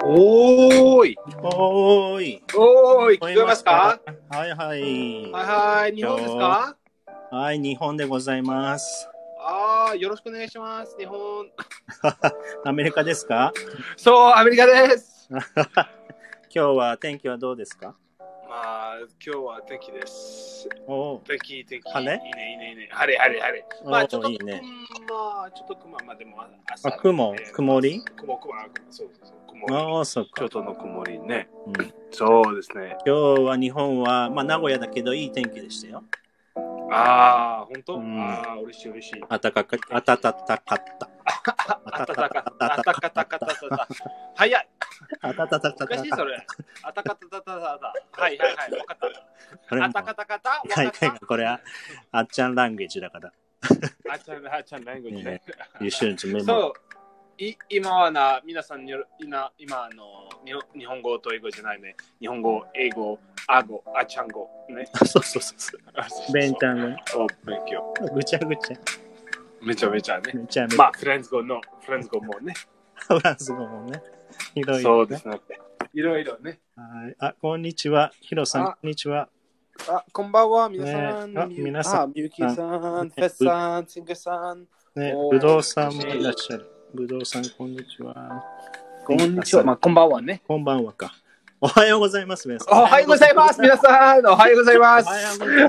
おーい。 おーい。 おーい。聞こえますか？ はいはい。 はいはい。日本ですか？ はい、日本でございます。 よろしくお願いします。日本。 アメリカですか？ そう、アメリカです。 今日は天気はどうですか？ 今日は天気です。 お天気。 晴れ？ いいね。晴れ。ちょっと、 いいね。 ちょっと雲、でも朝、 曇り？ そう。曇り。 そうか。 ちょっとの曇りね。そうですね。 今日は日本は、名古屋だけどいい天気でしたよ。 本当？嬉しい。 暖かかった。 早い。 あたたたたた。 難しいそれ。あたかたたたた。はい、わかった。あたかたかた。 これはあっちゃんランゲージだから。 あっちゃんランゲージね。 You shouldn't remember. そう。今は皆さん今日本語と英語じゃないね。日本語、英語、あっちゃん語ね。 そう。ベンちゃんね。 勉強。 ぐちゃぐちゃ。 めちゃめちゃね。フランス語もね。 フランス語もね。いろいろね。 そうですね。いろいろね。 はい。こんにちは。ヒロさん、こんにちは。 こんばんは、皆さん。 皆さん。 みゆきさん、フェスさん、シンガさん。 ね、ぶどうさんもいらっしゃる。ぶどうさん、こんにちは。 こんにちは。こんばんはね。 こんばんはか。おはようございます、皆さん。 おはようございます、皆さん。おはようございます。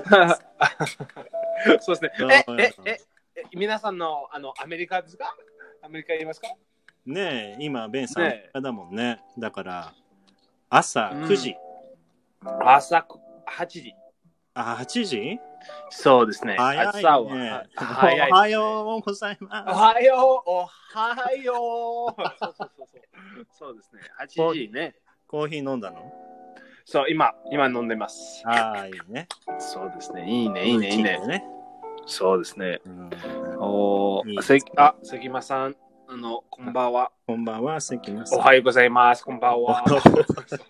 そうですね。皆さんのアメリカですか？アメリカいますか？ ねえ、今、ベンさん、アメリカだもんね。だから、朝9時。 朝8時。 8時？ そうですね。 早いね。 朝は早い。 おはようございます。 おはよう。そうですね。8時ね。 コーヒー飲んだの？ そう、今飲んでます。 いいね。 そうですね。いいね。そうですね。関間さん、こんばんは。 こんばんは、関間さん。 おはようございます。こんばんは。そう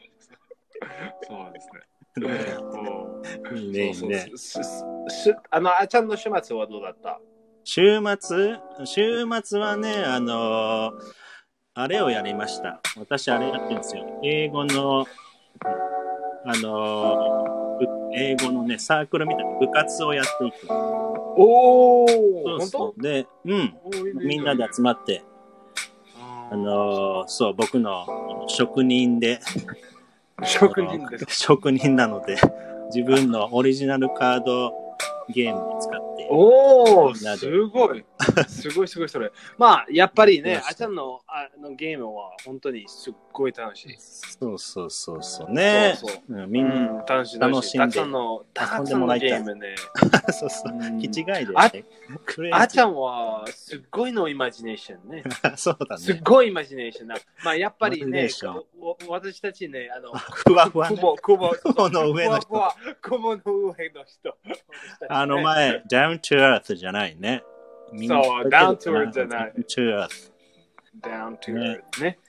ですね。いいね。あっちゃんの週末はどうだった？週末はね、あれをやりました。私、あれやってるんですよ。英語のね、サークルみたいな部活をやっていく。 本当？ で、みんなで集まって、僕の職人なので、自分のオリジナルカードゲームを使って。 すごいそれ。やっぱりね、あちゃんのゲームは本当にすっごい楽しい。 そうね。みんな楽しんで。たくさんのゲームね。 気違いで。 あちゃんはすっごいのイマジネーションね。 そうだね。 すっごいイマジネーションやっぱりね、私たちね、 ふわふわ。 雲の上の人。前、down to earth じゃないね。 そう、down to earth じゃない。 down to earth ね。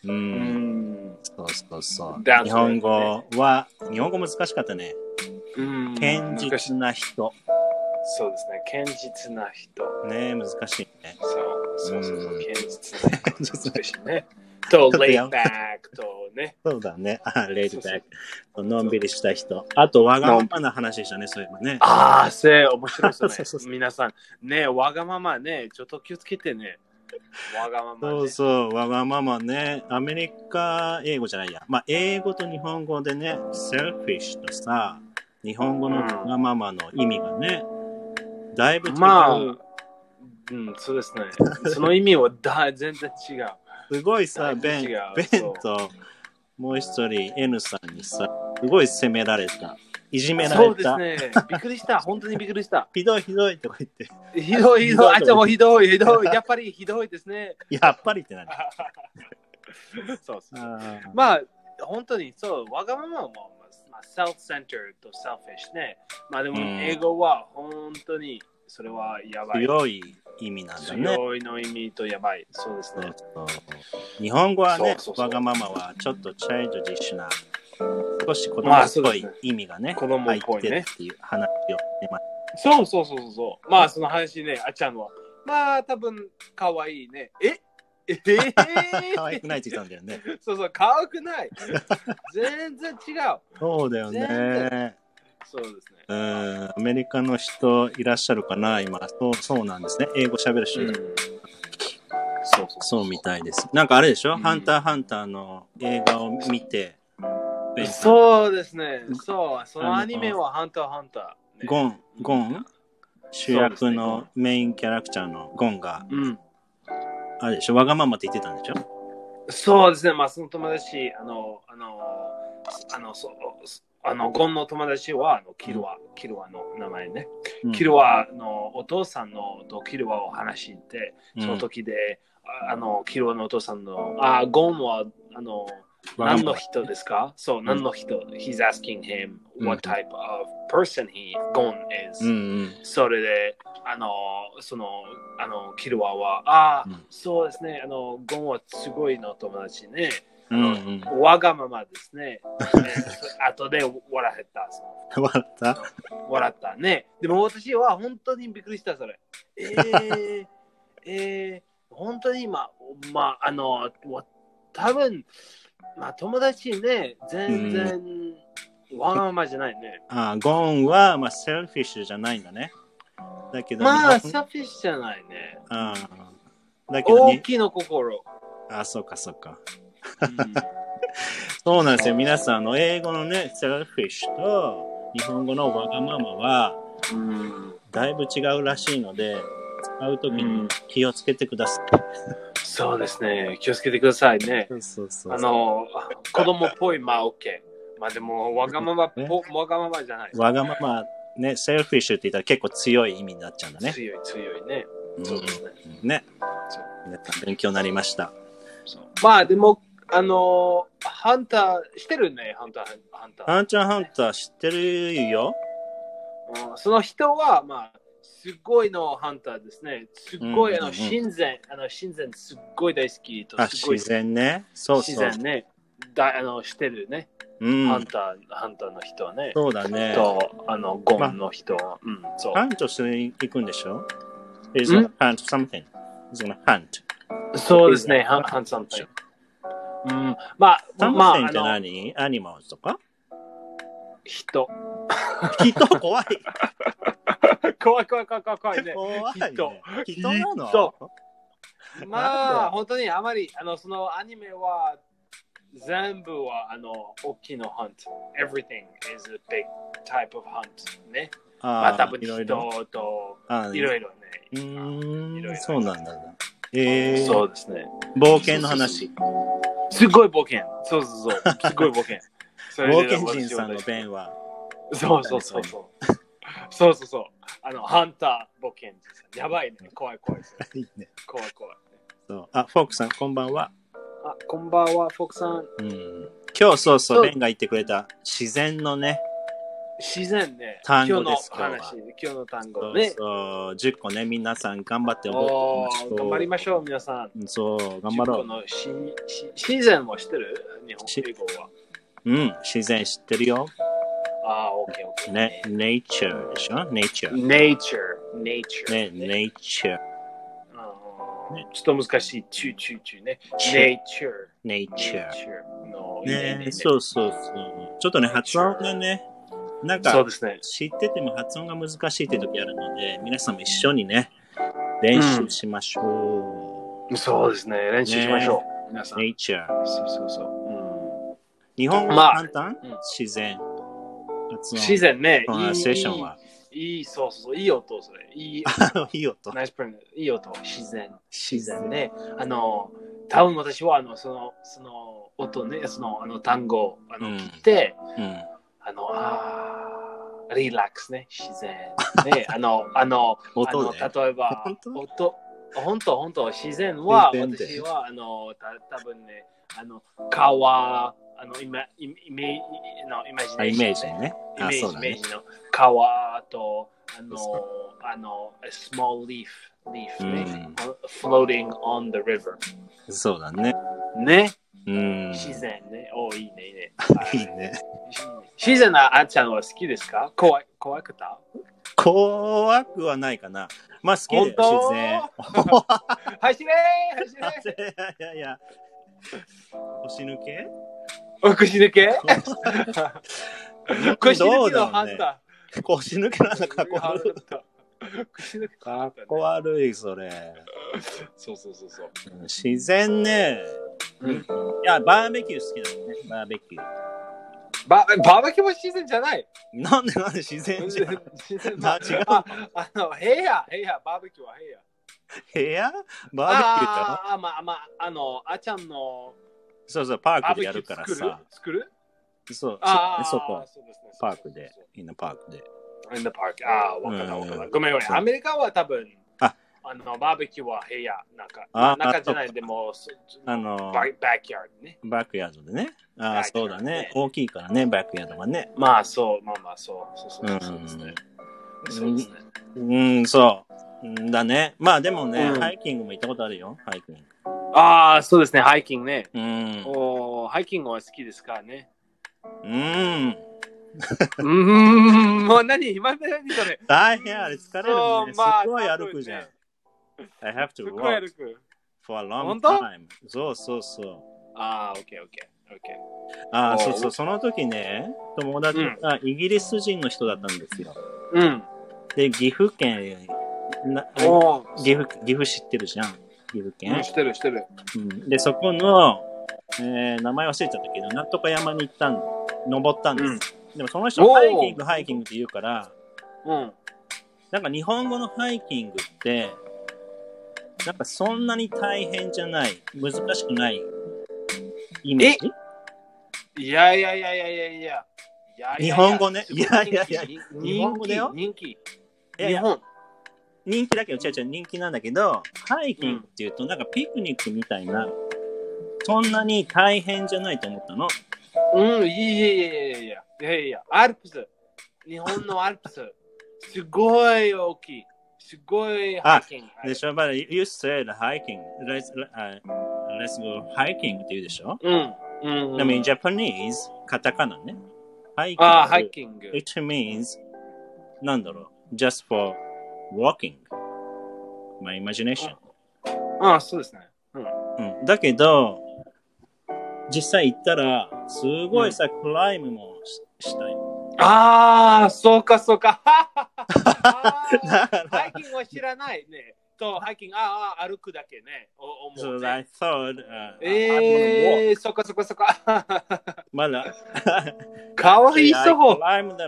そう。日本語難しかったね。堅実な人。 そうですね、堅実な人。 ね、難しいね。 そう、堅実な人ね。と、レイバックとね。 そうだね。レイバック。のんびりした人。あと、わがままな話でしたね、そういえばね。 面白いですね。皆さん、ね、わがままね、ちょっと気をつけてね。わがままね。 そう、わがままね。アメリカ英語じゃないや。英語と日本語でね、selfish とさ、日本語のわがままの意味がね、だいぶ違う。 そうですね。その意味は全然違う。 すごいさ、ベンともう一人 N さんにさ、すごい責められた。いじめられた。 そうですね。びっくりした。本当にびっくりした。 ひどいとか言って。 ひどい。あちゃんもひどい。やっぱりひどいですね。 やっぱりって何？ そう。本当にそう、わがままも、self-centered と selfish ね。でも、英語は本当にそれはやばい。 強い意味なんだね。 強いの意味とやばい。そうですね。 日本語はね、わがままはちょっとチャイルドディッシュな、少し子供っぽい意味がね、入ってるっていう話をね。 そう。その話ね、あちゃんは。多分、かわいいね。 可愛くないって言ったんだよね。 そうそう、可愛くない。全然違う。 そうだよね。 そうですね。 アメリカの人いらっしゃるかな今。そうなんですね。英語喋る人いる。そうみたいです。なんかあれでしょ、ハンターハンターの映画を見て。 そうですね。そう。そのアニメはハンターハンター、 ゴン主役のメインキャラクターのゴンが、あれでしょ、わがままって言ってたんでしょ。 そうですね。まあその友達、ゴンの友達はキルワの名前ね。キルワのお父さんのキルワを話して、その時で、キルワのお父さんの、ゴンは何の人ですか？そう、何の人？ He's asking him what type of person Gon is. それで、キルワは、そうですね、ゴンはすごいの友達ね。わがままですね。後で笑えた。笑ったね。でも私は本当にびっくりした、それ。本当に多分、友達ね、全然わがままじゃないね。 ゴンは、セルフィッシュじゃないんだね。だけどセルフィッシュじゃないね。 だけど大きな心。 そうか。そうなんですよ。皆さん、英語のね、セルフィッシュと日本語のわがままは、だいぶ違うらしいので、使うときに気をつけてください。 そうですね。気をつけてくださいね。 そう子供っぽい、OK。でも、わがままじゃない。 わがまま、ね、セルフィッシュって言ったら結構強い意味になっちゃうんだね。 強いね。そうですね。 ね。皆さん勉強になりました。 でも、ハンター、してるね、ハンター。 ハンター知ってるよ。 その人は、すごいのハンターですね。すごい、親善すっごい大好きと。 自然ね。そう。 自然ね。してるね。ハンターの人はね。 そうだね。 と、ゴンの人は。 ハントしていくんでしょ？ He's gonna hunt something. He's gonna hunt. そうですね。hunt something. something って何？アニマルとか？ 人怖い。 怖いね。 怖いね。人なの？ 本当にあまり、そのアニメは全部は大きなハント。Everything is a big type of hunt ね。多分人といろいろね。 そうなんだ。 そうですね。 冒険の話。 すごい冒険。そう。すごい冒険。 冒険人さんの弁は。 そう。ハンター冒険人さん。やばいね。怖い。 いいね。 怖い。 そう。フォークさん、こんばんは。 こんばんは、フォークさん。 今日ベンが言ってくれた自然のね。 自然ね。 単語です。 今日の単語ね。 そう、10個ね、皆さん頑張って覚えてみましょう。頑張りましょう、皆さん。 そう、頑張ろう。 自然も知ってる？日本英語は。 自然知ってるよ。 OK。 ね、nature でしょ？ nature。 ね、 nature。 ちょっと難しい。チュね。nature。 ね、そう。ちょっとね、発音がね、なんか、知ってても発音が難しいって時あるので、皆さんも一緒にね、練習しましょう。そうですね、練習しましょう。皆さん。 nature。 そう。 日本語簡単？自然。 自然ね。 プロナンセーションは。 そう。いい音、それ。いい音。ナイスプロナン。いい音。自然ね。多分私は、その音ね、単語を聞いて、リラックスね、自然。ね、 音で例えば、本当、自然は、私は、多分ね、川、イメージね。イメージの川と、small leaf ね、floating on the river。 そうだね。 ね。自然ね。いいね。 いいね。 自然なあっちゃんは好きですか？怖くた？ 怖くはないかな。まあ好きだよ、自然。 走れいやいや。腰抜け腰抜け腰抜けのハンター。腰抜けなんだかっこ悪い。 腰抜けかっこ悪い、それ。 そう。 自然ね。いや、バーベキュー好きだよね、バーベキュー。 バーベキューも自然じゃない。 なんで自然じゃん。違う。 部屋、バーベキューは部屋。 部屋バーベキューかあっちゃんの。 そう、パークでやるからさ。 作るそう、そこ。パークで。in the park で。 in the park。わかった。ごめん。アメリカは多分、バーベキューは部屋。中じゃないでも、バックヤードね。 バックヤードでね。そうだね。大きいからね、バックヤードがね。 まあそうですね。そうですね。そうだね。まあでもね、ハイキングも行ったことあるよ、ハイキング。 そうですね、ハイキングね。ハイキングは好きですからね。もう何それ。 大変あれ疲れるね。すごい歩くじゃん。I have to walk for a long time. そう。 OK。 そう、その時ね、友達がイギリス人の人だったんですよ。で、岐阜県、岐阜知ってるじゃん。岐阜県。 知ってる。 で、そこの、名前忘れちゃったけど、なんとか山に登ったんです。でもその人ハイキングって言うから、なんか日本語のハイキングって、なんかそんなに大変じゃない、難しくないイメージ？ いや。 日本語ね。いや。 日本語だよ。人気だけど、違う、人気なんだけど、ハイキングっていうと、なんかピクニックみたいな、そんなに大変じゃないと思ったの。 いや。アルプス。日本のアルプス。すごい大きい。すごいハイキング。 でしょ、but you said hiking. Let's go hiking って言うでしょ。でも in Japanese カタカナね。 ハイキング。 It means なんだろう。Just for walking. My imagination. そうですね。 だけど実際行ったらすごいさ、クライムもしたよ。 そうか。ハイキングは知らないね。ハイキング、歩くだけね。 So I thought, そっか。 まだ。 かわいそう。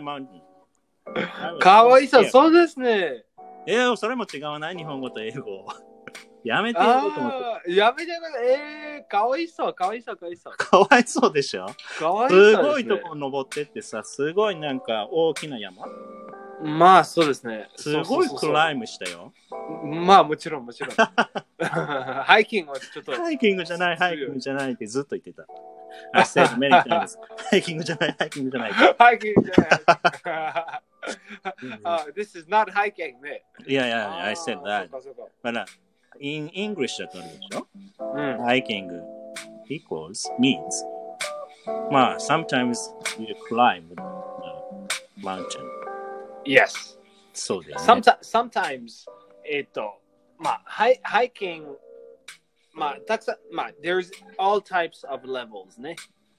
かわいそう、そうですね。 それも違わない日本語と英語。やめてよと思って。 やめてよ。かわいそう。 かわいそうでしょ。 かわいそう。 すごいとこ登ってってさ、すごいなんか大きな山。 まあそうですね。 すごいクライムしたよ。 まあもちろん。ハイキングはちょっと。 ハイキングじゃないってずっと言ってた。I said many times. ハイキングじゃない。 ハイキングじゃない。This is not hiking ね。 Yeah, I said that. But in English だとあるでしょ。Hiking means まあ sometimes you climb the mountain. Yes. そうだよね。 Sometimes hiking たくさんthere's all types of levels ね。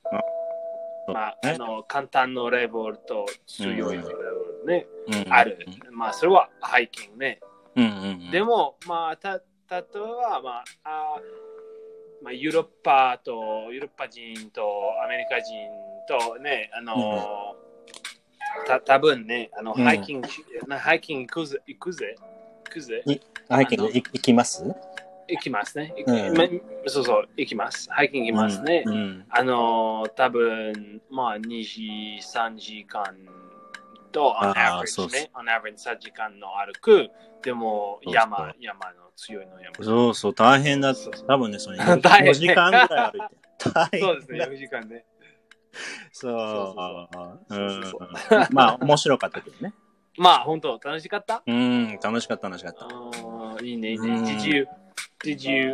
簡単なレベルと強いレベルね。ある。それはハイキングね。でも例えばヨーロッパ人とアメリカ人とね多分ねハイキング行くぜ。 ハイキング行きます？ 行きますね。そう行きます。ハイキング行きますね。多分2時3時間とon average ね。on average 3時間の歩く。でも山の強いの山。 そう大変だ。多分ねそれ4時間ぐらい歩いて。 そうですね4時間ね。 面白かったけどね。 本当楽しかった？ 楽しかった。 いいね。Did you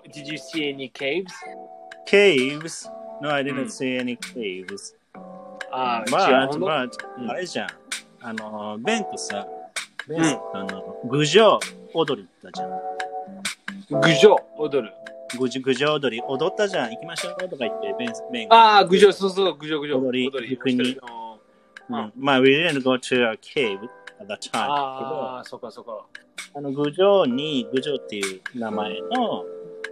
see any caves? Caves? No, I didn't see any caves. ああれじゃん。ベンとさ、郡上踊り行ったじゃん。 郡上踊る。 郡上踊り踊ったじゃん。行きましょうとか言って、ベン郡上、そうそう、郡上。 踊り行くに。まあ、we didn't go to a cave at that time. そうか。 郡上っていう名前の、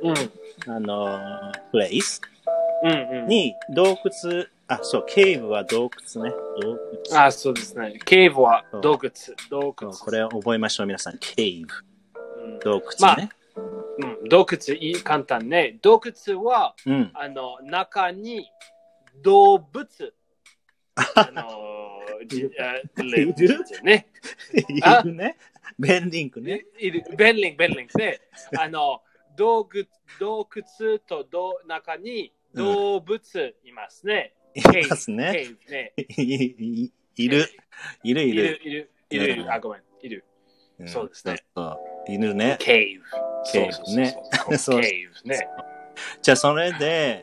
プレイスに洞窟、ケーブは洞窟ね。 そうですね。ケーブは洞窟。 これを覚えましょう、皆さん。ケーブ。洞窟ね。 洞窟、簡単ね。洞窟は、中に動物。 いるね。ベンリンクね。 ベンリンクね。洞窟と中に動物いますね。 いますね。いる。 ごめん。いる。そうですね。 いるね。 ケーブね。 じゃあ、それで、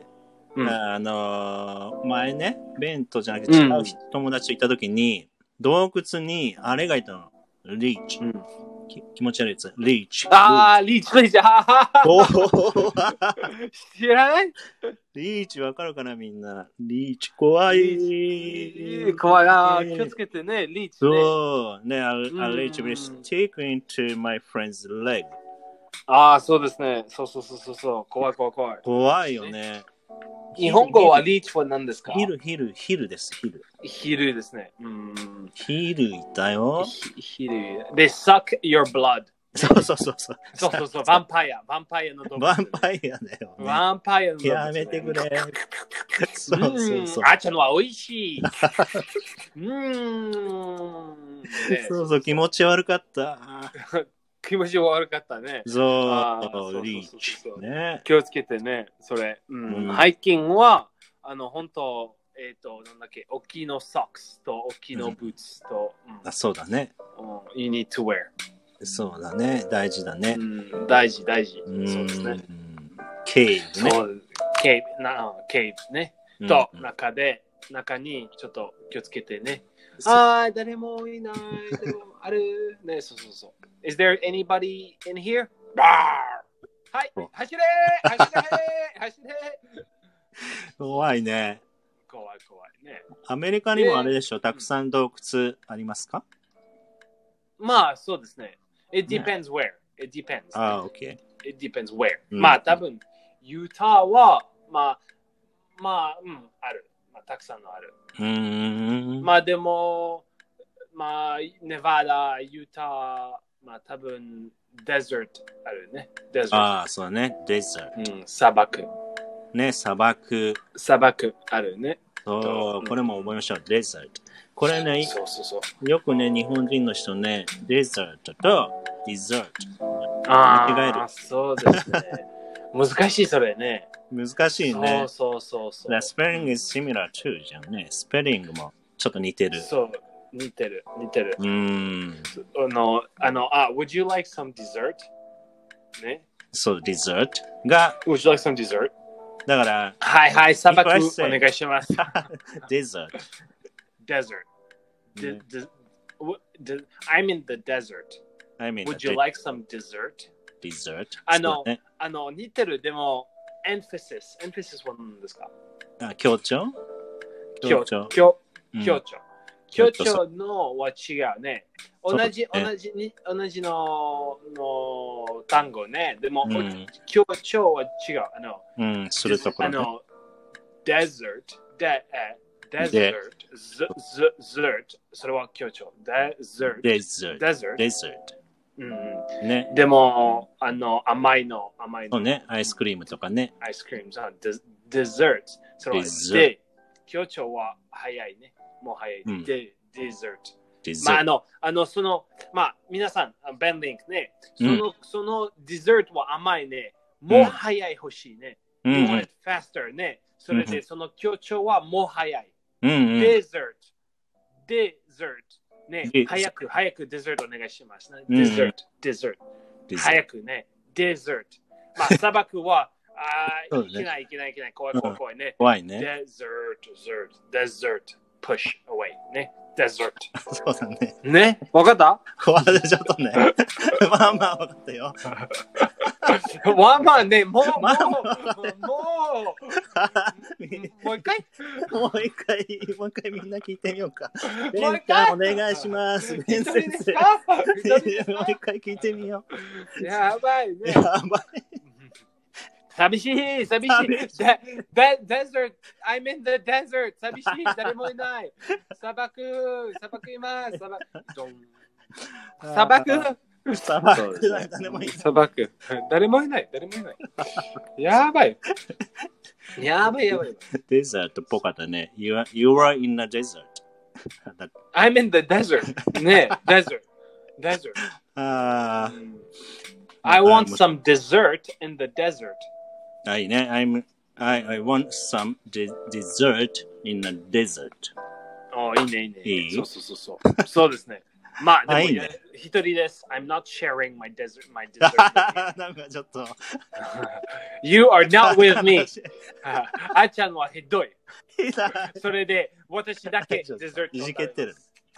前ね、ベントじゃなくて違う友達と行った時に、洞窟にあれがいたの。リーチ。気持ち悪いやつ。リーチ。 リーチ。知らない？ リーチわかるかなみんな。リーチ怖い。 怖いな。気をつけてね、リーチね。 そう。ね、I'll let you be stick into my friend's leg. そうですね。そう。怖い。 怖いよね。 日本語はリーチは何ですか？ ヒルです。 ヒルですね。 ヒルいたよ。 ヒル。They suck your blood. そう。 ヴァンパイアの動物。 ヴァンパイアだよ、ね。 ヴァンパイアの動物、ね。 やめてくれ。そう。 あっちゃんのは美味しい。 そう、気持ち悪かった。 気持ち悪かったね。 そう、リーチ。 気をつけてね、それ。ハイキングは、本当、なんだっけ、大きいのソックスと大きいのブーツと。 そうだね。 You need to wear. そうだね、大事だね。 大事。そうですね。 ケーブね。 ケーブね。と、中にちょっと気をつけてね。誰もいない。でもある。ね、そう。Is there anybody in here? はい、走れ怖いね。 怖いね。 アメリカにもあれでしょ、たくさん洞窟ありますか？ まあ、そうですね。It depends where. It depends. Okay. It depends where. まあ、多分、ユタは、ある。たくさんのある。まあ、でも、ネバダ、ユタ、多分、デザートあるね。 そうだね。デザート。 砂漠。 ね、砂漠あるね。 そう、これも覚えましょう。デザート。これね、よくね、日本人の人ね、デザートとデザート。間違える。 そうですね。難しい、それね。 難しいね。 そう。 スペリング is similar too じゃんね。スペリングもちょっと似てる。 そう、似てる。Would you like some dessert? ね。 そう、デザートが。 Would you like some dessert? だから、 はい、砂漠お願いします。 デザート。 Desert. I'm in the desert. Would you like some dessert? Dessert? 似てる、でも、emphasis は何ですか？ 強調のは違うね。同じの単語ね。でも、強調は違う。 するところ。 desert それは強調。desert。 ね。 でも、甘いの。 そうね、アイスクリームとかね。 アイスクリーム。dessert。それはで、強調は早いね。もう早い。dessert。皆さん、ベンリンクね。そのデザートは甘いね。もう早い欲しいね。You want it faster ね。それで、その強調はもう早い。dessert。ね、早くデザートお願いしますね。デザート。早くね、デザート。砂漠は、いけない。怖いね。 怖いね。 デザート。 push away ね。desert。 そうだね。 ね。わかった？ ちょっとね。まあまあわかったよ。 まあまあね、もう一回みんな聞いてみようか。もう一回お願いします。ベン先生。もう一回聞いてみよう。やばいね。 やばい。 寂しい。desert. I'm in the desert. 寂しい。誰もいない。砂漠います。砂漠誰もいない。やばい。 デザートっぽかったね。You are in the desert. I'm in the desert. ね、desert. I want some dessert in the desert. いいね。I want some dessert in the desert. いいね。そうですね。まあ、でも一人です。I'm not sharing my dessert. なんかちょっと。 You are not with me. あちゃんはひどい。それで、私だけデザート。 いじけてる。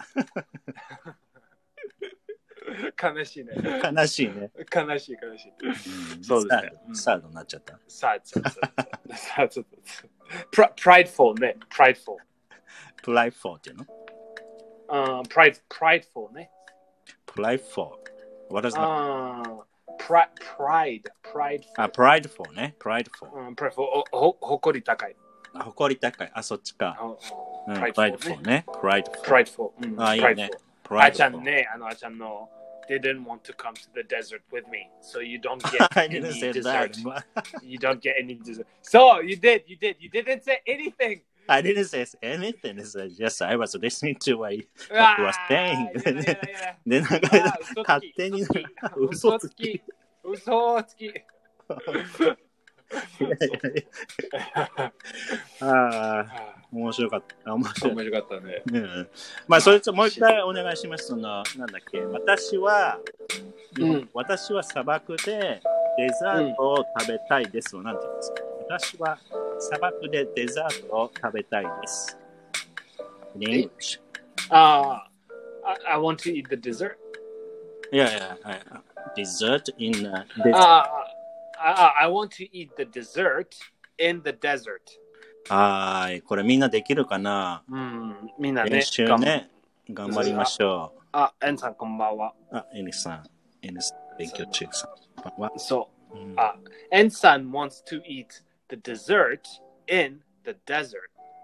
悲しいね。 悲しい。 そうですね。 サードになっちゃった。 サード。prideful ね。prideful っていうの ？prideful ね。 prideful. What is that? prideful ね。prideful. prideful 誇り高い。 誇り高い。そっちか。 prideful ね。 prideful。 いいね。 あちゃんね、あちゃんのThey didn't want to come to the desert with me, so you don't get any dessert. You don't get any dessert. So you did. You didn't say anything. I didn't say anything. Yes, I was listening to what you were saying. で、なんか、勝手に嘘つき。面白かった。面白かったね。まあ、それともう一回お願いします。なんだっけ。私は砂漠でデザートを食べたいです。なんて言うんですか。私は砂漠でデザートを食べたいです。In English. I want to eat the dessert. Yeah. Dessert in desert. I want to eat the dessert in the desert. これみんなできるかな？ みんなね。 練習ね。頑張りましょう。 エンさんこんばんは。 エニさん勉強中さん。 そう。エンさん wants to eat the dessert in the desert.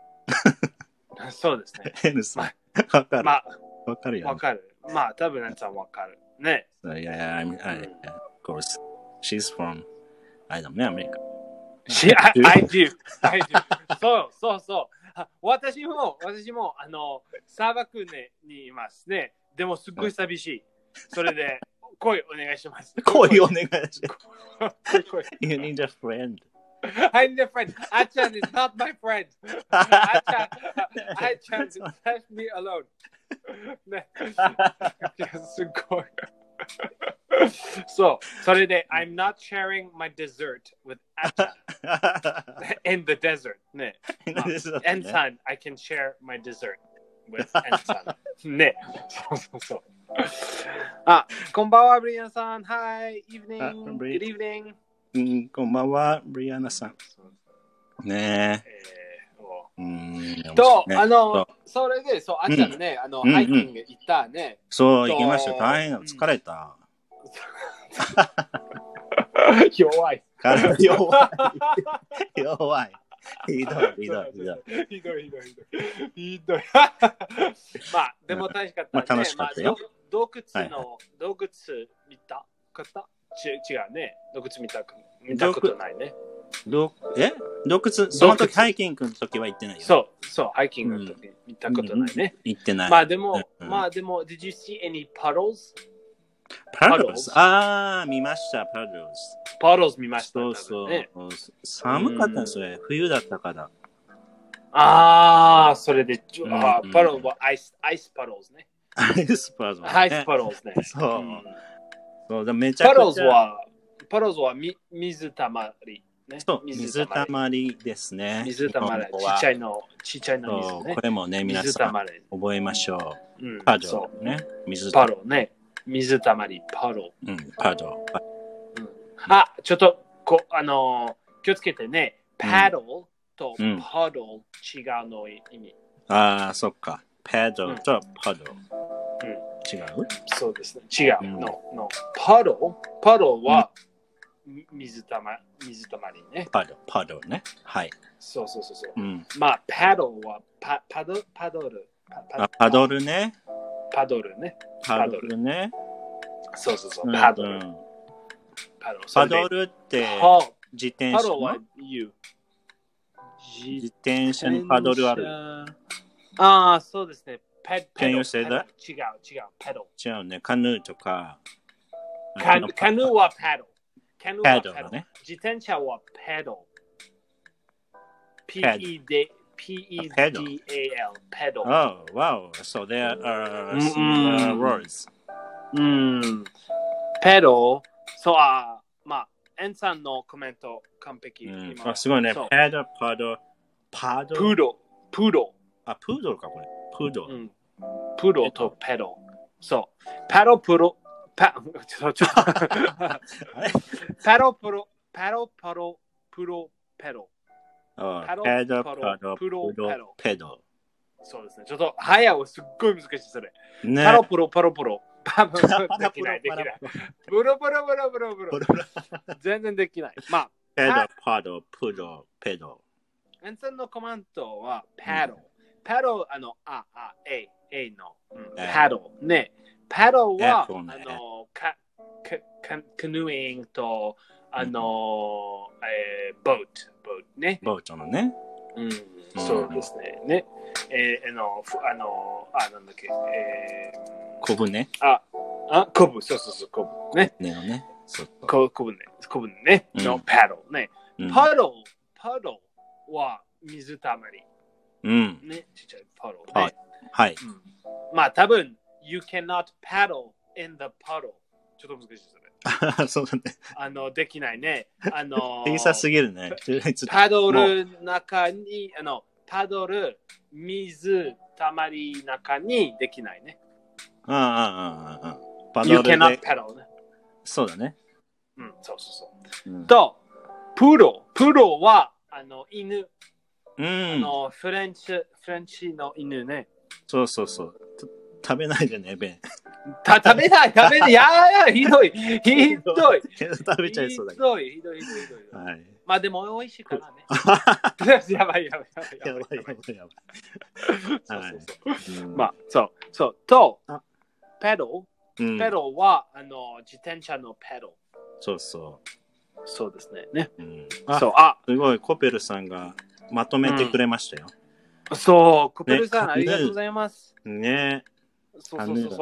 そうですね。 エニさん。わかる。わかるよ。 わかる。まあ、多分エンさんわかる。ね。 Yeah, of course. She's from, I don't know, America. I do. そう。私も砂漠にいますね。でもすっごい寂しい。それで声お願いします。 声お願いします。You need a friend. I need a friend. あちゃん is not my friend. あちゃん left me alone. ね。すごい。それで I'm not sharing my dessert with Acha in the desert ね。エンさん I can share my dessert with エンさんね。そう。こんばんはブリアナさん。Hi, evening. Good evening. こんばんはブリアナさん。ねそれであちゃんねハイキング行ったね。 そう行きました。大変疲れた。 弱い。 ひどい。 まあでも楽しかったね。 楽しかったよ。 洞窟見たかった？違うね。洞窟見たことないね。 洞窟、その時ハイキングの時は行ってないよ。 そう、ハイキングの時見たことないね。 行ってない。 まあでも、did you see any puddles? Puddles? 見ました、 puddles 見ました。 そう。寒かったんですよ。冬だったから。 それで、puddles はアイスpuddles ね。 アイスpuddles ね。 そう。めちゃくちゃ。 puddles は水たまり。 ね。 そう、水たまりですね。 水たまり。ちっちゃいの水ね。 これもね、皆さん覚えましょう。パドルね。 パドルね。水たまり、パドル。 パドル。 あ、ちょっと、気をつけてね。パドルとパドル違うの意味。 ああ、そっか。パドルとパドル。違う？ そうですね。違うの。パドルは水たまりね。 パドルね。はい。 そう。まあ、パドルはパドル。 パドルね。 パドルね。そう。パドル。 パドルって自転車の自転車にパドルある。 ああ、そうですね。 Can you say that? 違う、パドル。 違うね。カヌーとか。 カヌーはパドル。 パドルね。 自転車はパドル。P-E-D-A-L, パドル。 Oh, wow. So there are similar words. パドル。そう、まあ、エンさんのコメント完璧。 すごいね。パドル。プードル。あ、プードルか、これ。プードル。 プードルとペドル。そう。パドル、プロ、パドル、プロ、ペドル。 ペド。 そうですね。ちょっと、早はすっごい難しい、それ。パロプロ。できない。ブロ。全然できない。まあ、 パド、プロ、ペド。 エンさんのコメントは、パド。パド、A の、パド。ね。パドは、カヌーイングと、ボートね。 ボートのね。 そうですね。なんだっけ。 コブね。 コブ、そう、コブね。コブね。のパドね。パドは水たまり。ね。ちっちゃいパドね。 はい。 まあ、多分、You cannot paddle in the puddle. ちょっと難しいですね。 そうだね。できないね。 小さすぎるね。 パドル中に、パドル、水たまり中にできないね。You cannot paddle ね。 そうだね。 そう。と、プロは、犬。フレンチの犬ね。 そう。食べないでね、ベン。 食べない。いや、ひどい。 食べちゃいそうだけど。 ひどい。 はい。 まあでも美味しいからね。やばい。まあ、そう。と、ペドルは、自転車のペドル。そうですね。 すごい、コペルさんがまとめてくれましたよ。 そう、コペルさん、ありがとうございます。 ね。 そう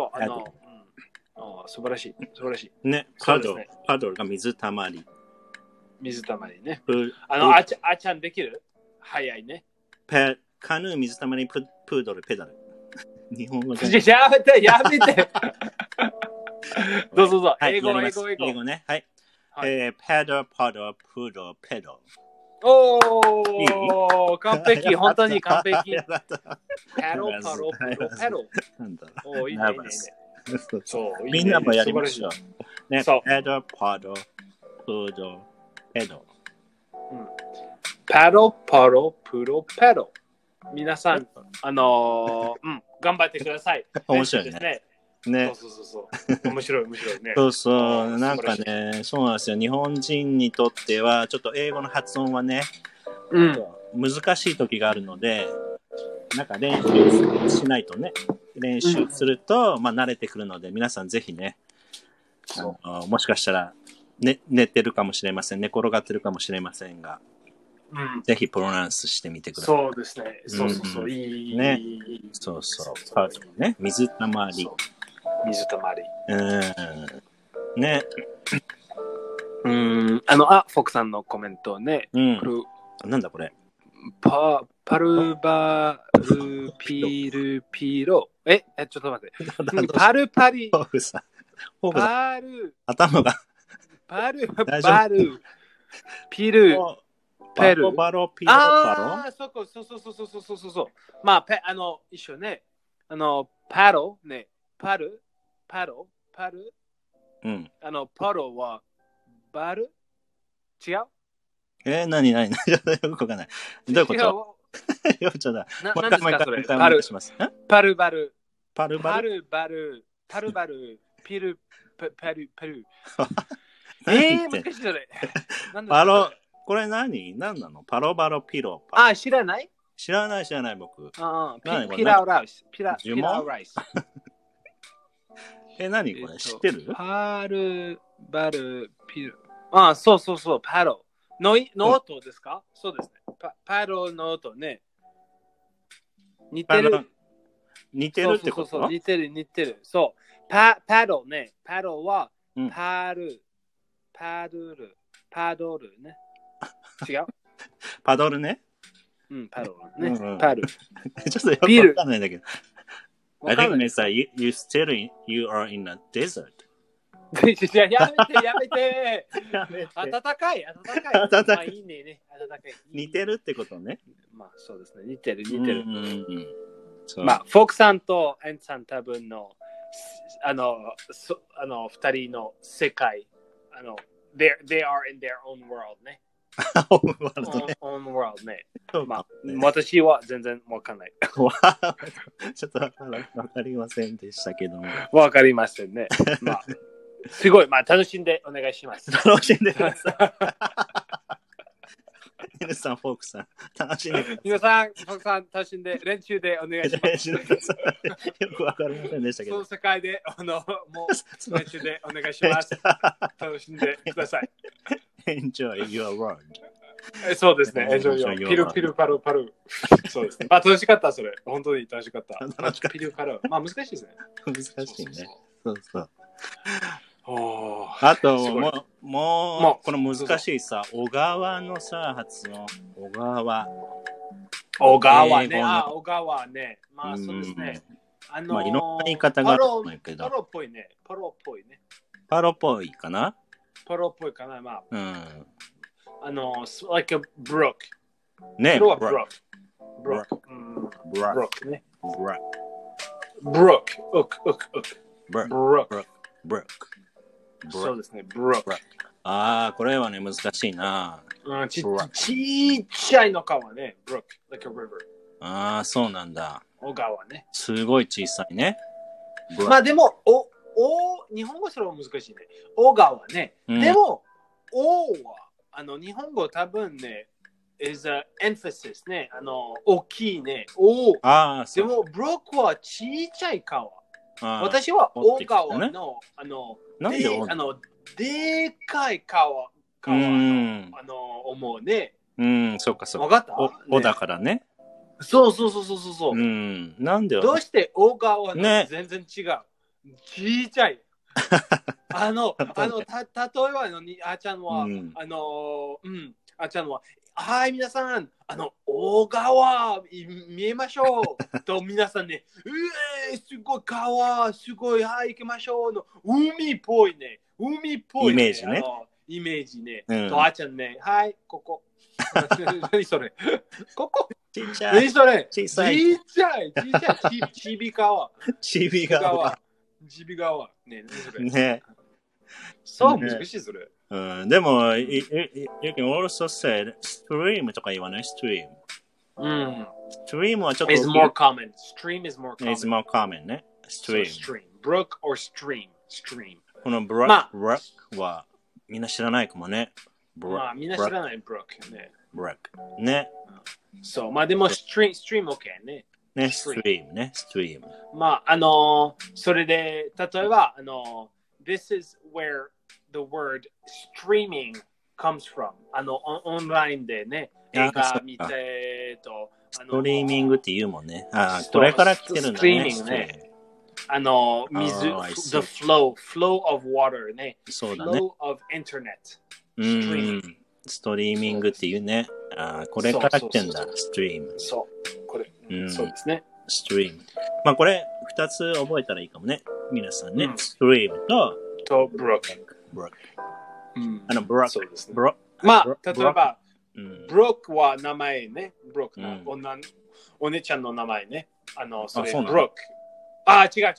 。素晴らしい。 ね、パドルが水たまり。 ね。あちゃんできる？早いね。 カヌー、水たまり、プードル、ペダル。日本語で。 やめて。どうぞ。英語ね。はい。パドル、パドル、プードル、ペダル。 おー、完璧、本当に完璧。パドル。おー、いいね。 みんなもやりましょう。ね、パドル、パドル、プードル、ペダル。 パドル、プードル、ペダル。皆さん、頑張ってください。 面白いね。 そう。面白いね。 そう。なんかね、そうなんですよ。日本人にとっては、ちょっと英語の発音はね、難しい時があるので、なんか練習しないとね、練習すると、慣れてくるので、皆さんぜひね、もしかしたら、寝てるかもしれません。寝転がってるかもしれませんが、ぜひプロナンスしてみてください。 そうですね。そう。いい。 ね。そう。パートね。水たまり。ね。 フォクさんのコメントね。 なんだこれ。 パルバルピルピロ。ちょっと待って。パルパリ。 フォークさん。頭が。 パル。 ピル、ペル。 バロ、ピロ、パロ。 そう。まあ、一緒ね。パロ、ね。パル。 うん。 パロは、バル違う何よくわかんない。どういうことよくちょうだい。 何ですかそれパルバル、ピル、ペル。難しいそれ。 パロ、これ何なのパロバロピロ。 知らない知らない僕。 ピラーライス。何これ知ってるパルバルピル。そう、パロ。の音ですかそうですね。パロの音ね。似てるってことそう、似てる。そう。パドね。パドは、パドルね。違うパドルね。 パドルね。パドル。 ちょっとよくわかんないんだけど。I think Mesa, you are in a desert. やめて。暖かい。いいね。暖かい。 似てるってことね。 まあそうですね。似てる。まあ、フォークさんとエンさん多分の二人の世界、they are in their own world ね。own world ね。まあ、私は全然わかんない。 ちょっとわかりませんでしたけども。 わかりませんね。まあ、すごい、まあ、楽しんでお願いします。 楽しんでください。皆さん、フォークさん、楽しんでください。 皆さん、フォークさん、楽しんで、練習でお願いします。よくわかりませんでしたけど。 その世界で、もう、練習でお願いします。楽しんでください。 Enjoy your world. そうですね。ピルパル。そうですね。まあ、楽しかった、それ。本当に楽しかった。ピルパル。まあ、難しいですね。 難しいね。そう。あと、もう、この難しいさ、小川のさ、発音。小川ね。まあ、そうですね。 まあ、いろんな言い方があると思うけど。 パロっぽいね。 パロっぽいかなまあ。like a brook。 ね、 brook。ね。brook。そうですね、brook。 これはね、難しいな。 ちっちゃいの川ね、brook。like a river。 そうなんだ。 小川ね。 すごい小さいね。 まあでも、日本語それは難しいね。小川ね。でも、は、日本語多分ね、is a emphasis ね。大きいね。でも、brook はちっちゃい川。私は小川の、でかい川思うね。 そうか。 わかったおだからね。 そう。 なんでどうして小川は全然違う。ちっちゃい。例えばあちゃんは、あちゃんは、はい、皆さん、大川見えましょうと、皆さんね、すごい川、すごい、はい、行きましょうの、海っぽいね。 イメージね。 イメージね。と、あちゃんね、はい、ここ。何それここちっちゃい。 何それちっちゃい。 ちび川。 ちび川。 ね。そう、難しいそれ。 でも、you can also say stream とか言わない stream。stream はちょっと。 is more common. Stream is more common ね。stream. brook or stream. この brook はみんな知らないかもね。 まあ、みんな知らない brook ね。 brook ね。 そう、まあでも stream OK ね。 ね、stream ね、stream。 まあ、それで、例えば、this is where the word streaming comes from. オンラインでね、映画見てと、 ストリーミングって言うもんね。これから来てるんだね。 ストリーミングね。the flow of water ね。 そうだね。 flow of internet。 ストリーミングっていうね。これから来てんだ、ストリーム。 そう、これ。そうですね。 ストリーム。まあこれ、2つ覚えたらいいかもね。皆さんね。ストリームと、 ブロック。 ブロック。ブロック。 まあ、例えば、ブロックは名前ね。ブロックの、お姉ちゃんの名前ね。それ、ブロック。違う。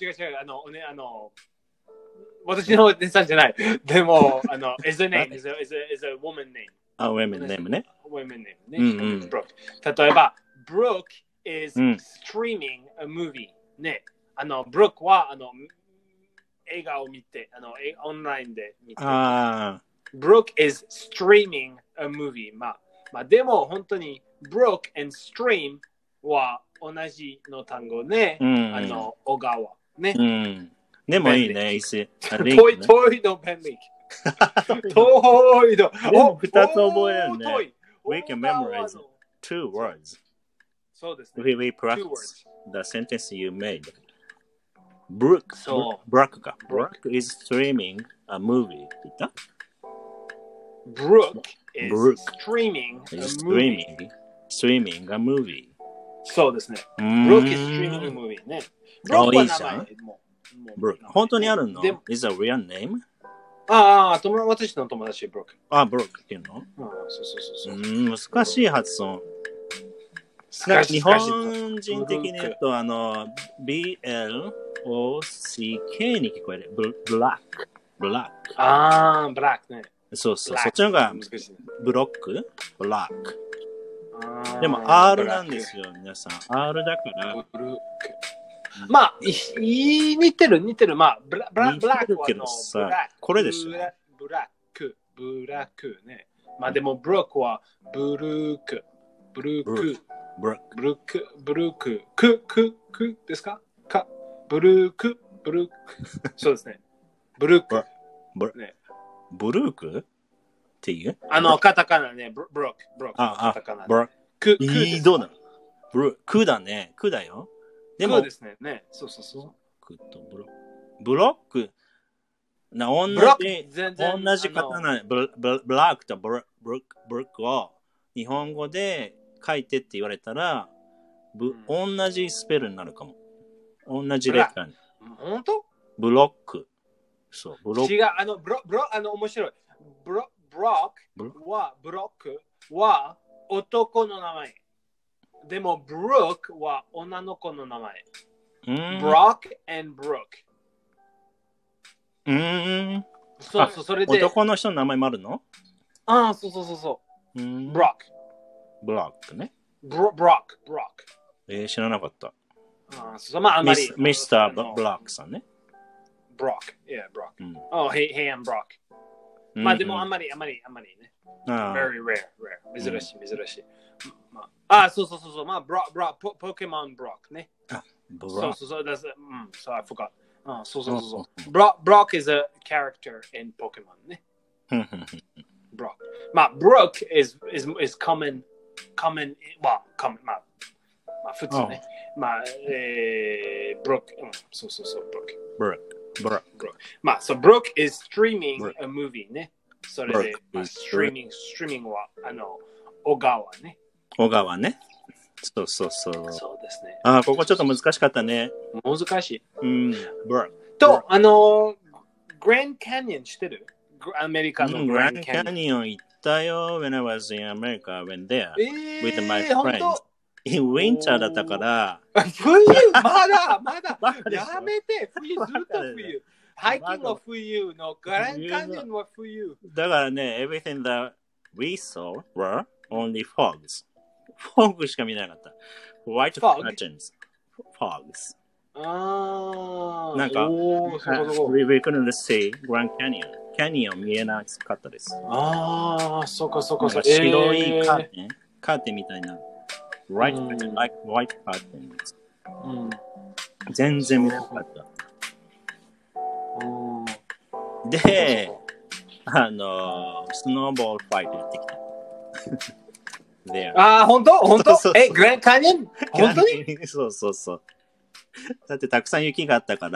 私のお姉さんじゃない。でも、is a name, is a woman name. women name ね。 women name ね。ブロック。例えば、Brooke is streaming a movie ね。ブロックは、映画を見て、オンラインで見て。Brooke is streaming a movie. まあ、でも、本当に、Brooke and stream は同じの単語ね。小川ね。 でもいいね。遠いの便利。遠いの。 二つ覚えるね。We can memorize 2 words. そうですね。 We practice the sentence you made. Brooke is streaming a movie. 言った Brooke is streaming a movie. そうですね。Brooke is streaming a movie ね。 いいじゃん。本当にあるの ?Is a real name? 私の友達、ブロック。 ブロックっていうのそう。 難しい発音。日本人的に言うと、BLOCK に聞こえる。ブラック。 ブラックね。 そう。そっちのがブロックブラック。でも R なんですよ、皆さん。R だから。 まあ、似てる。まあ、ブラックはこれでしょ。 ブラックね。まあでも、ブロックはブルークですかブルーク。そうですね。ブルーク。 ブルークっていうカタカナね。ブロック。カタカナ。 ブロック。どうだクだね。クだよ。 でもですね。そう。 ブロック。同じカタナ。ブラックとブロックを日本語で書いてって言われたら、同じスペルになるかも。同じレターに。 本当？ ブロック。そう、ブロック。 違う、面白い。ブロックは男の名前。でも、ブロックは女の子の名前。ブロック and ブロック。そう、それで。 男の人の名前もあるの？ そう。ブロック。 ブロックね。 ブロック。 知らなかった。 まあ、あんまり。 ミスター・ブロックさんね。 ブロック。ブロック。Hey, I'm Brock. まあ、でもあんまりね。very rare. 珍しい。そう。まあ、ポケモンブロックね。そう。So I forgot. そう。Brock is a character in Pokemon ね。Brock. まあ、Brock is common. まあ、普通ね。まあ、Brock. そう、Brock. まあ、Brock is streaming a movie ね。それで、streaming は、小川ね。 小川ね。そう。そうですね。ここちょっと難しかったね。 難しい。 Brock。 と、グランドキャニオン知ってる？アメリカのグランドキャニオン。 行ったよ。When I was in America, I went there with my friends. In winter だったから。 冬まだやめて。冬ずっと冬。ハイキングは冬のグランドキャニオンは冬。 だからね、everything that we saw were only fogs. fog しか見なかった。White curtains. Fogs. なんか、we couldn't see Grand Canyon. キャニオン見えなかったです。 そうか。 白いカーテンみたいな。White curtains. 全然見なかった。で、スノーボールファイトやってきた。 本当グランドキャニオン本当にそう。だってたくさん雪があったから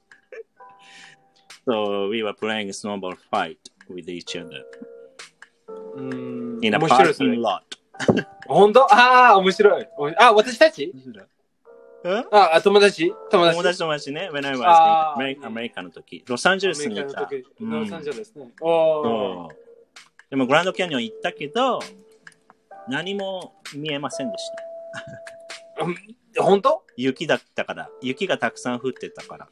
、So we were playing snowball fight with each other. In a parking lot. 本当？面白い。私たち？友達ね。 When I was in アメリカの時。ロサンゼルスにいた。 ロサンゼルスね。 でもグランドキャニオン行ったけど、何も見えませんでした。 本当？ 雪だったから。雪がたくさん降ってたから。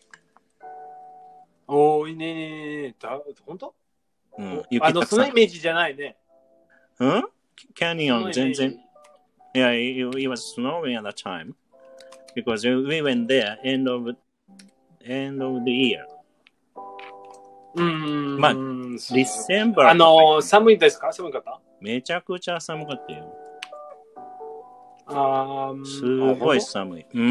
おー、いいね。本当？ うん。 そのイメージじゃないね。 うん？キャニオン全然。Yeah, it was snowing at that time. Because we went there end of the year. まあ、ディセンバー。 寒いですか？寒かった？ めちゃくちゃ寒かったよ。すごい寒い。うん。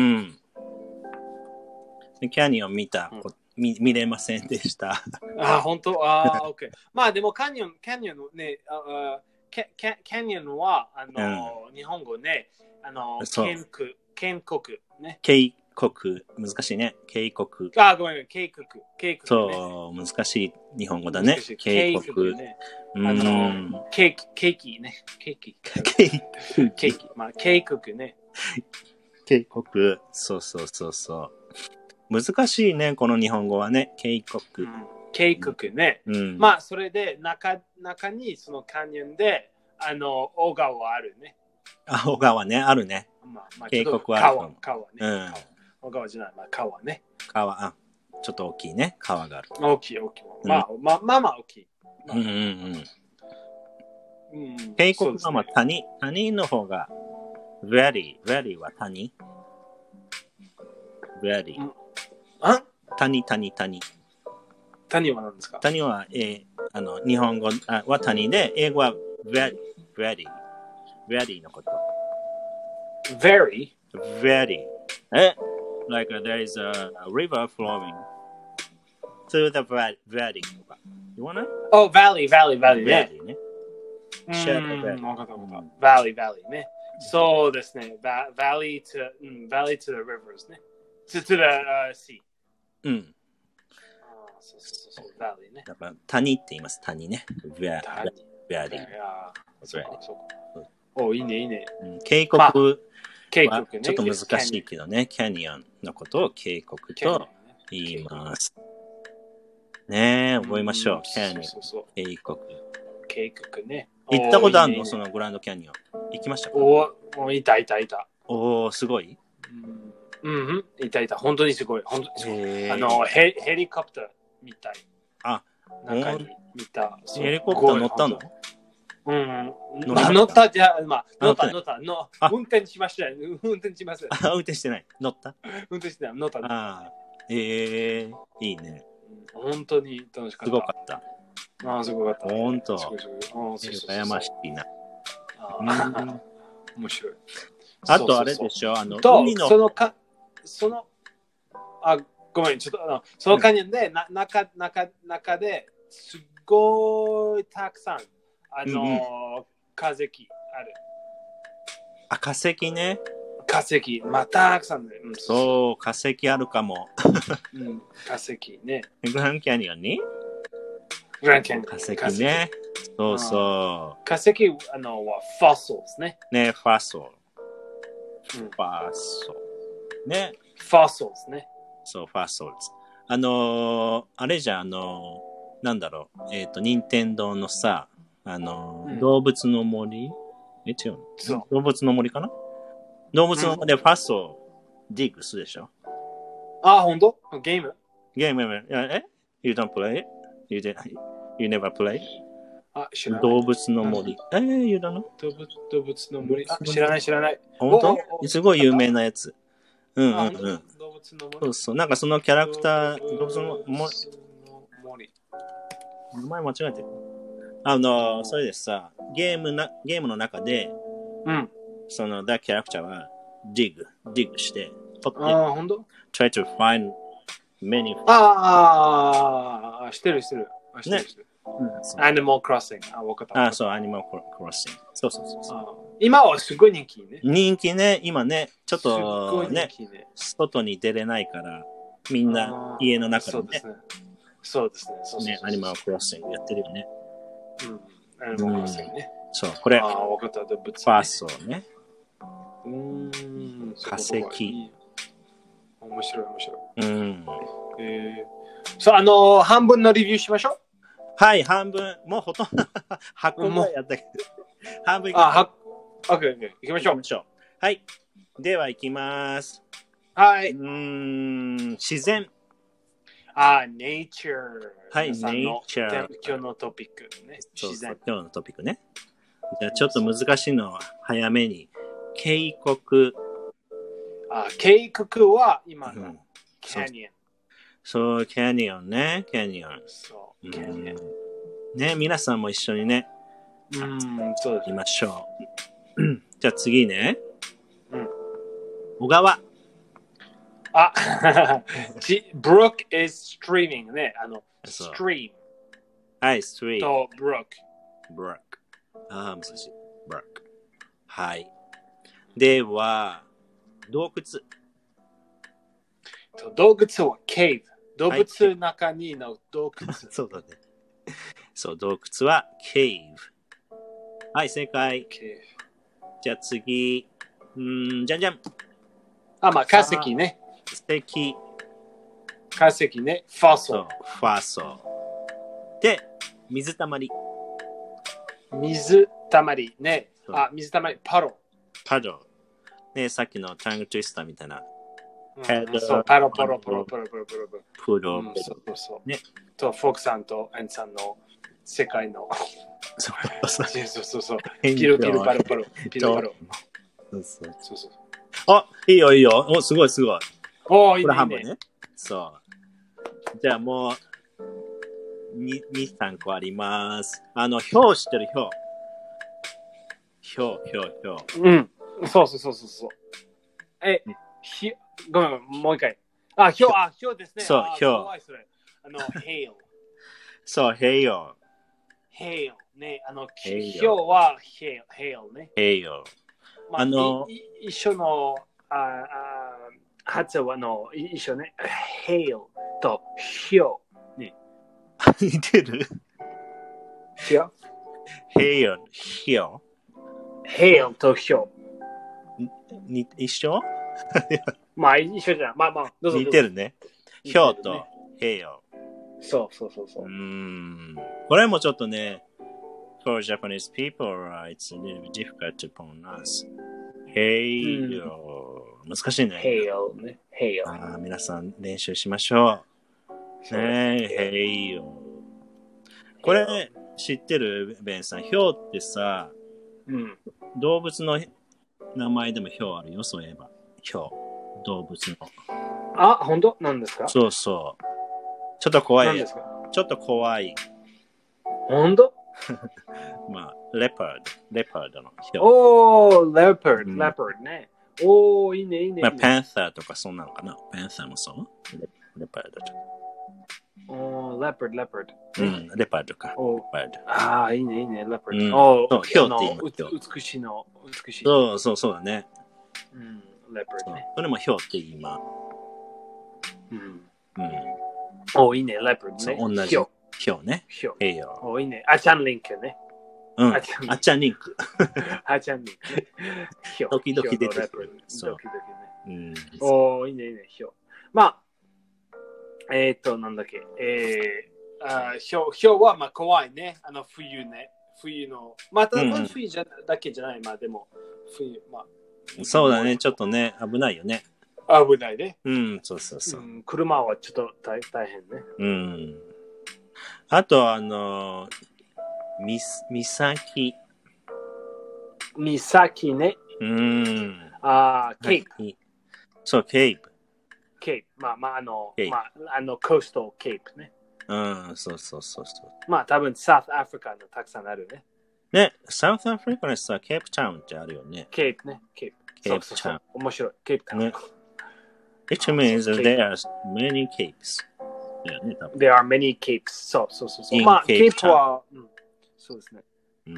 キャニオン見れませんでした。 本当？OK。まあでもキャニオンね、キャニオンは日本語ね、渓谷ね。 渓谷、難しいね。渓谷。 ごめん、渓谷。 そう、難しい日本語だね。渓谷。 ケーキね。ケーキ。まあ、渓谷ね。 渓谷。そう。難しいね、この日本語はね。渓谷。 渓谷ね。まあ、それで中にそのキャニオンで、小川あるね。 小川ね、あるね。渓谷はある。 川ね。小川じゃない、川ね。 川、ちょっと大きいね。川がある。 大きい。まあ大きい。 渓谷は谷の方が、very は谷。very。谷。 谷は何ですか？ 谷は、日本語は谷で、英語は very のこと。 very? Like there is a river flowing through the valley. You wanna? Oh, valley ね。valley ね。そうですね。valley to the rivers ね。to the sea。そう、valley ね。 だから谷って言います。谷ね。valley。 お、いいね。 渓谷はちょっと難しいけどね。キャニオンのことを渓谷と言います。ねえ、覚えましょう。キャニオン。 渓谷ね。 行ったことあるの？そのグランドキャニオン。行きましたか？ いた。 おー、すごい？ いた。本当にすごい。ヘリコプターみたい。中に見た。 ヘリコプター乗ったの？ 乗ったじゃ、乗った。運転しました。運転します。 運転してない。乗った？ 運転してない。乗った。 いいね。 本当に楽しかった。 すごかった。 すごかった。 本当。羨ましいな。 面白い。 あとあれでしょ、 海のごめん、ちょっとそのカニオンで中ですごいたくさん化石ある。 化石ね。 化石、たくさんね。 そう、化石あるかも。 化石ね。 グランキャニオンに？ グランキャニオン。 化石ね。そう。 化石はフォッソルですね。 ね、フォッソル。ね。 フォッソルですね。 そう、フォッソル。あれじゃなんだろう。任天堂のさ、動物の森？違うの？動物の森かな？動物の森でファッソディグするでしょ？ 本当？ゲーム？ You don't play it? You never play? 知らない。 動物の森。You don't know? 動物の森。知らない。 本当？すごい有名なやつ。動物の森。そう。なんかそのキャラクター、動物の森。名前間違えてる。それでさ、ゲームの中で、その、that character は、dig して、取って、 本当？ try to find many. してる。 ね。 Animal Crossing。わかった。 そう、Animal Crossing。そう。 今はすごい人気ね。 人気ね、今ね、ちょっとね、外に出れないから、みんな家の中でね。 そうですね。 Animal Crossing やってるよね。 Animal Crossing ね。 そう、これ、 わかった。ファーストね。化石。 面白い。そう、半分のレビューしましょはい、半分。もうほとんど8個ぐらいやったけど。半分いきましょう。OK、行きましょう。 はい。では行きます。 はい。 自然。 nature。 はい、nature。 今日のトピックね。 自然。今日のトピックね。じゃあちょっと難しいのは早めに。渓谷。 渓谷は今のキャニオン。 そう、キャニオンね。キャニオン。 そう、キャニオン。 ね、皆さんも一緒にね。 そうです。 行きましょう。じゃあ次ね。小川。 brook is streaming ね。stream。 はい、stream。 と、brook。 難しい。brook。はい。では、洞窟。 洞窟は cave。動物の中にの洞窟。 そうだね。そう、洞窟は cave。はい、正解。じゃあ次。じゃんじゃん。 化石ね。化石ね。ファーソ。 で、水たまり。 水たまりね。水たまり。パド。 ね、さっきのタングトゥイスターみたいな。 そう、パロ。 そう。 ね。と、フォークさんとエンさんの世界の。そう。ピルパロ。そう。 いいよ。すごい。 いいね。 これ半分ね。そう。じゃあもう、2、3個あります。ひょう知ってるひょう。 そう。ごめん、もう一回。ひょうですね。 そう、ひょう。 hail。 そう、hail。 ね。ひょうは hail ね。 hail。 一緒の発音の一緒ね。hail とひょう。ね。 似てるひょう hail、ひょう。hail とひょう。一緒一緒じゃん。どうぞ。 似てるね。ひょうと hail。 そう。 これもちょっとね、for Japanese people, it's a little bit difficult to pronounce. hail。難しいね。 hail ね。 hail。皆さん練習しましょう。ねえ、hail。これ知ってるベンさん、ひょうってさ、動物の名前でもひょうあるよ、そういえば。ひょう。動物の。 本当？何ですか？ そう。ちょっと怖い。 何ですか？ ちょっと怖い。 本当？ レパードのひょう。レパードね。いいね。 パンサーとかそんなのかな？パンサーもそう？レパードとか。 レパード。 レパードか。 いいね、レパード。 ひょうって言う。 美しい。 そうだね。 レパードね。 それもひょうって言います。 いいね、レパードね。 同じ。ひょうね。 いいね。あちゃんリンクね。 あちゃんリンク。 時 々出てくる。 いいね、ひょう。なんだっけ。ひょうは怖いね。冬ね。冬の。冬だけじゃない。でも、冬。 そうだね。ちょっとね、危ないよね。 危ないね。 そう。 車はちょっと大変ね。 あと、岬ね。ケープ。 そう、ケープ。 コーストケープね。 そう。 多分、サウスアフリカのたくさんあるね。 ね、サウスアフリカのさ、ケープタウンってあるよね。 ケープね。ケープタウン。面白い。ケープタウン。 It means there are many capes. There are many capes. そう。ケープは、そうですね。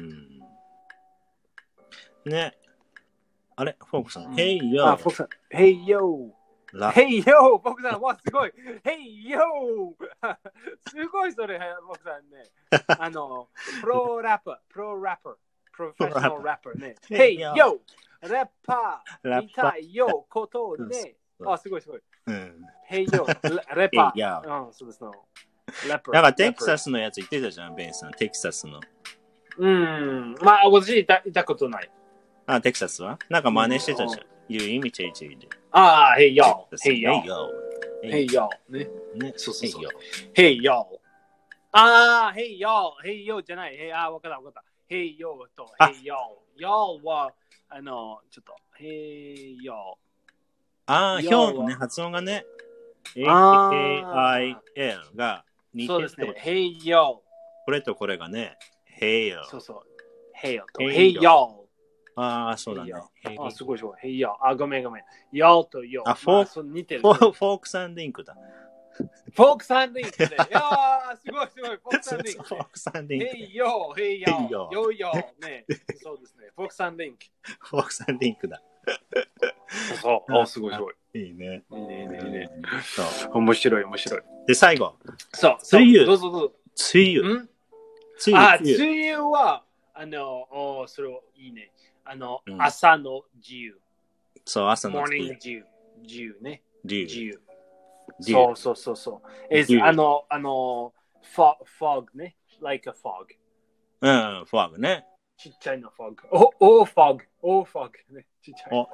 ね。あれ、フォークさん。Hey yo! フォークさん。Hey yo! Hey yo! フォークさん、わ、すごい Hey yo! すごいそれ、フォークさんね。プロラッパー。プロフェッショナルラッパーね。Hey yo! ラッパー。見たいよ、ことね。すごい。Hey yo! レパー。そうですね。 なんかテキサスのやつ言ってたじゃん、ベンさん。テキサスの。 まあ、私いたことない。 あ、テキサスはなんか真似してたじゃん。You imitate it. ああ、Hey yo. Hey yo. Hey yo. ね。 ね。 そうそうそう。Hey yo. ああ、Hey yo. Hey yo じゃない。わかった。Hey yo と Hey yo。yo は、ちょっと、Hey yo。 ああ、ヒョウのね、発音がね。H-A-I-L が似てる。そうですね。 Hey yo。 これとこれがね、Hey yo。 そうそう。Hey yo と Hey yo。 ああ、そうだね。 あ、すごい。Hey yo。あ、ごめん。yo と yo。 あ、フォークサンリンクだ。 フォークサンリンクで。いやー、すごい。フォークサンリンク。 フォークサンリンク。 Hey yo。ね。そうですね。フォークサンリンク。 フォークサンリンクだ。 そう。すごい。 いいね。 いいね。面白い。 で、最後。 そう。 梅雨。 どうぞ。 梅雨。 梅雨は、それいいね。朝の自由。 そう、朝の自由。自由ね。 自由。 そう。fog ね。like a fog。 fog ね。 ちっちゃいの fog。fog ね。ちっちゃい。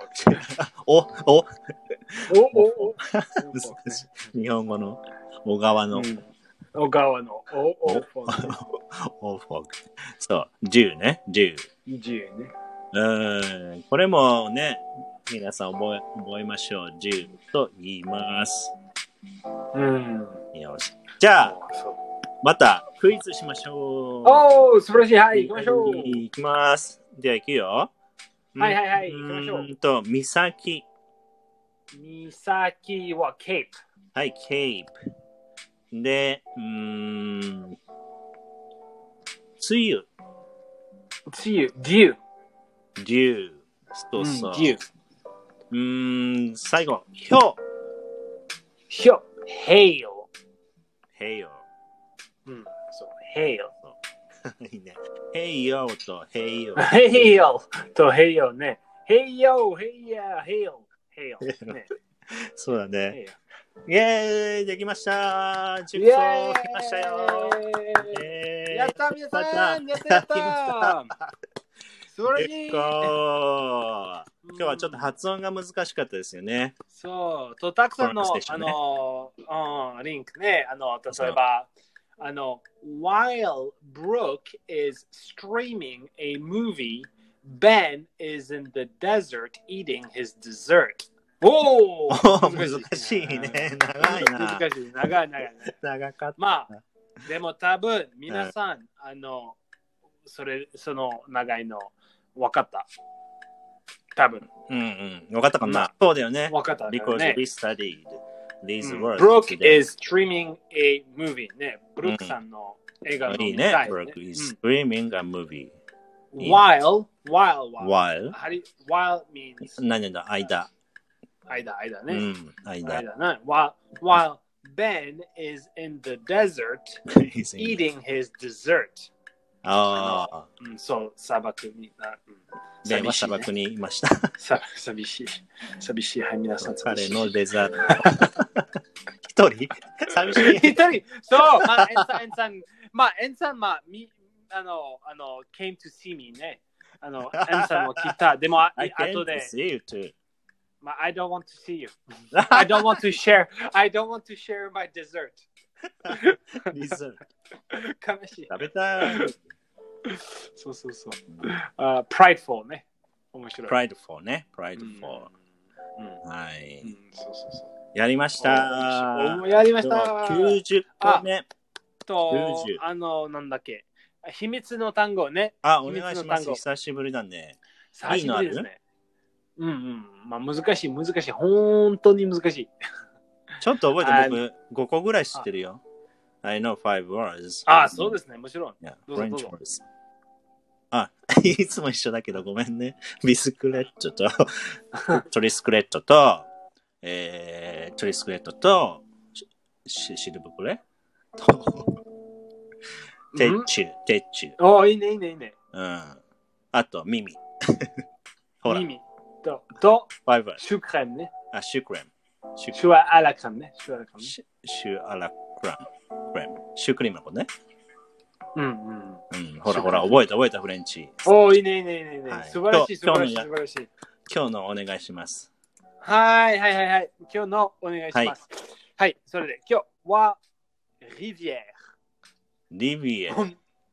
日本語の小川の。 小川の。 fog。そう、10ね。10 ね。 これもね、皆さん覚えましょう。10と言います。よし。じゃあ、またクイズしましょう。素晴らしい。はい、行きましょう。 行きます。では行くよ。 はい、行きましょう。 岬はケープ。 はい、ケープ。で、梅雨。 デュー。そう。 デュー。最後、ひょう。 hail。そう、hail。 いいね。hail と hail。 hail と hail ね。hail。ね。 そうだね。イェーイできました10個来ましたよやった皆さんやった素晴らしい今日はちょっと発音が難しかったですよね。 そう。たくさんの、リンクね。例えば、While Brooke is streaming a movie, Ben is in the desert eating his dessert. 難しいね。長いな。 難しい。長い。 長かった。 まあ、でも多分、皆さん、その長いの分かった。多分。 分かったかな。そうだよね。 分かった。 Because we studied these words. Brooke is streaming a movie. ね。ブルックさんの映画のいいね。Brooke is streaming a movie. While means 何だ、間ね。 間。While Ben is in the desert eating his dessert. そう、砂漠に。 ベンは砂漠にいました。 寂しい。はい、皆さん。 彼のデザート。一人寂しい。 一人そう、エンさん、came to see me ね。エンさんも来た。でも、後で。I don't want to see you. I don't want to share my dessert. 悲しい。 食べたい。 そう。prideful ね。面白い。 prideful ね。prideful。はい。 そう。 やりました。 やりました。 90個目。 なんだっけ。秘密の単語ね。 お願いします。久しぶりだね。 久しぶりですね。まあ難しい。本当に難しい。 ちょっと覚えて僕5個ぐらい知ってるよ。I know 5 words. そうですね。もちろん。 French words. いつも一緒だけどごめんね。ビスクレットとトリスクレットとシルブプレテッチュ。 いいね。 あと耳。 ほら。耳とシュクレームね。シュアラクラムね。 シュアラクラム。 シュークリームのことね。 うん。 ほらほら、覚えたフレンチ。 いいね。素晴らしい。今日のお願いします。 はい。今日のお願いします。はい、それで今日はリビエー。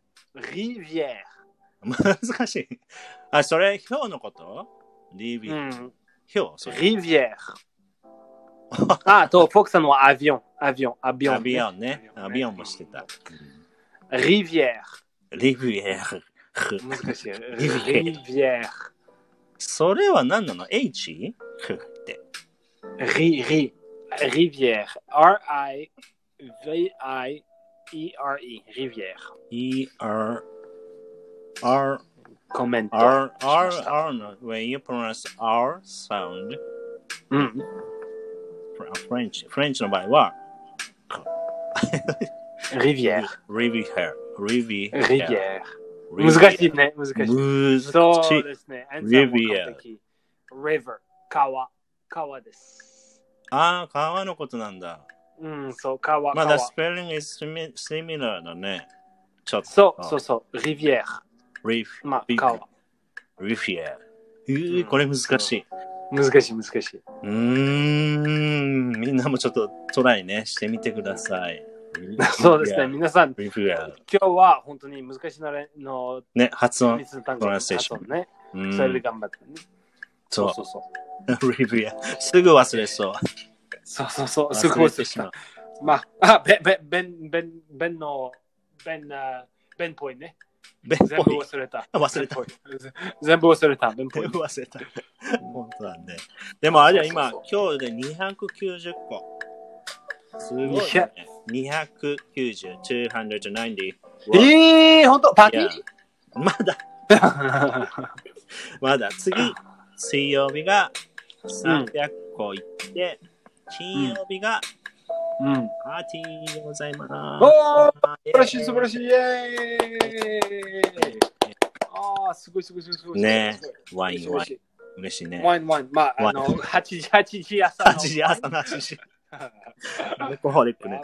難しい。それ、表のことリビエー。表リビエー。フォークさんはアビオンね。アビオンもしてた。 リビエー。 難しい。リビエー。 それは何なの ?H? って。 リビエー。R-I-V-I-E-R-E。リビエー。 E-R-R。 コメント。 R の when you pronounce R sound。フレンチの場合はリビエー。難しいね。そうですね。 リビエー。 river。川です。 川のことなんだ。 そう、川。 まだスペルング is similar だね。 そう。リビエー。川。 リビエー。これ難しい。 難しい。 みんなもちょっとトライね、してみてください。 そうですね、皆さん、今日は本当に難しいのね、発音、 プロナンセーションね。それで頑張ってね。そう。 リビア、すぐ忘れそう。 そう、すぐ忘れそう。ベンポイね。全部忘れた。全部忘れた。 本当だね。でもあれは今日で290個。すごい、ね。290、290。 本当パーティーまだ。次、水曜日が300個いって、金曜日がパーティーでございます。 素晴らしい。イェーイ。すごい。 ね、ワイン。嬉しいね。 ワイン。8時朝の。 8時。アルコホリックね。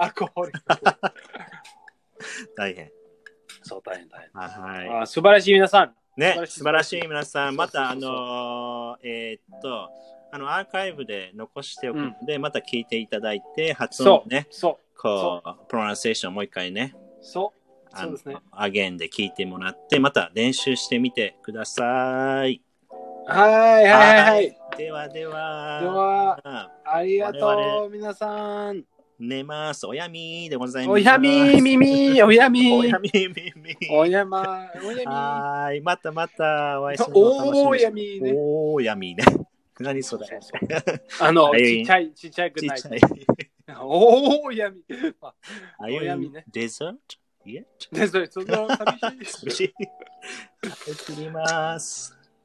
大変。 そう、大変。 はい。 素晴らしい皆さん。 ね、素晴らしい皆さん。また、アーカイブで残しておくので、また聞いていただいて、発音ね、こう、プロナンセーションもう一回ね、 そうですね。 アゲンで聞いてもらって、また練習してみてください。 はい。 では。 ありがとう、皆さん。 寝ます。おやみでございます。 おやみ。 おやみ。はい。また。お会いするの楽しみです。おやみね。何それ。ちっちゃいくない。おやみ。おやみね。 デザートデザート、そんな寂しい。 切ります。